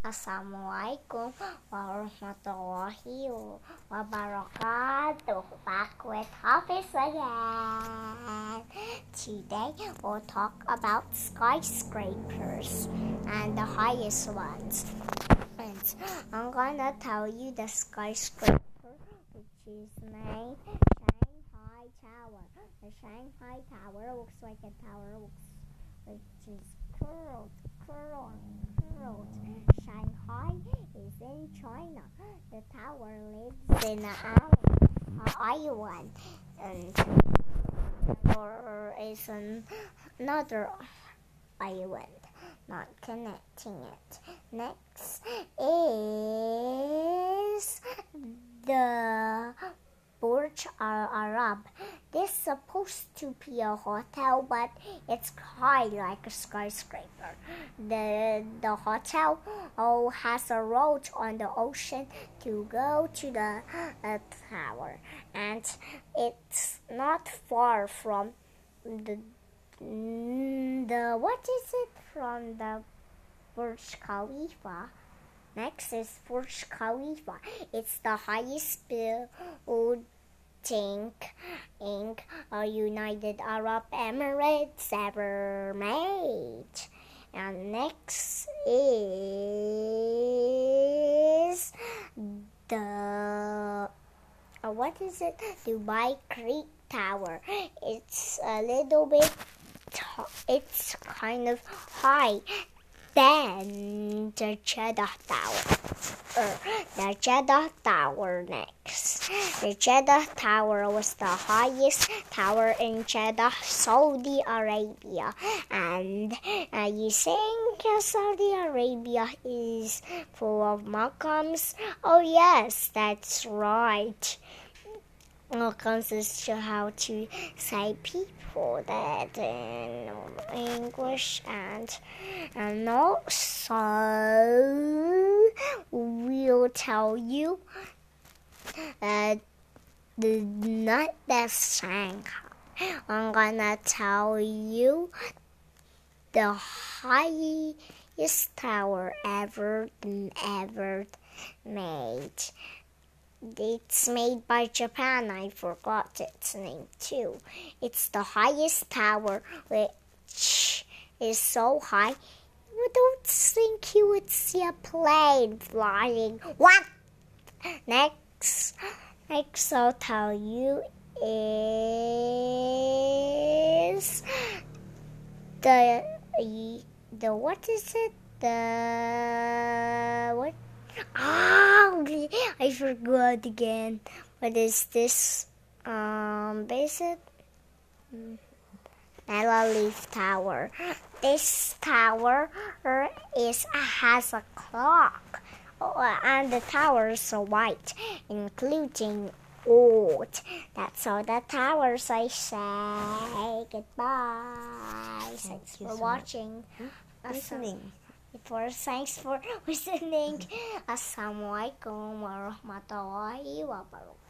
Assalamualaikum warahmatullahi wabarakatuh. Back with Hafiz again. Today we'll talk about skyscrapers and the highest ones. And I'm gonna tell you the skyscraper, which is named Shanghai Tower. The Shanghai Tower looks like a tower which is curled. Shanghai is in China. The tower lives in an island, and there is another island not connecting it. Next is the Burj Al Arab. This is supposed to be a hotel, but it's high like a skyscraper. The hotel has a road on the ocean to go to the tower, and it's not far from the from the Burj Khalifa. Next is Burj Khalifa. It's the highest building in United Arab Emirates ever made. And next is the Dubai Creek Tower. It's a little bit it's kind of high than the Jeddah Tower. The Jeddah Tower next. The Jeddah Tower was the highest tower in Jeddah, Saudi Arabia. And you think Saudi Arabia is full of Muslims? Oh yes, that's right. Comes to how to say people that in English, and also we'll tell you not the Shanghai. I'm gonna tell you the highest tower ever made. It's made by Japan. I forgot its name too. It's the highest tower, which is so high you don't think you would see a plane flying. What? Next I'll tell you is the what is it? I forgot again. What is this? Basic Leaf Tower. This tower has a clock, and the towers are white, including old. That's all the towers. I say goodbye. Thanks for watching. Listening. Thanks for listening. Assalamualaikum warahmatullahi wabarakatuh.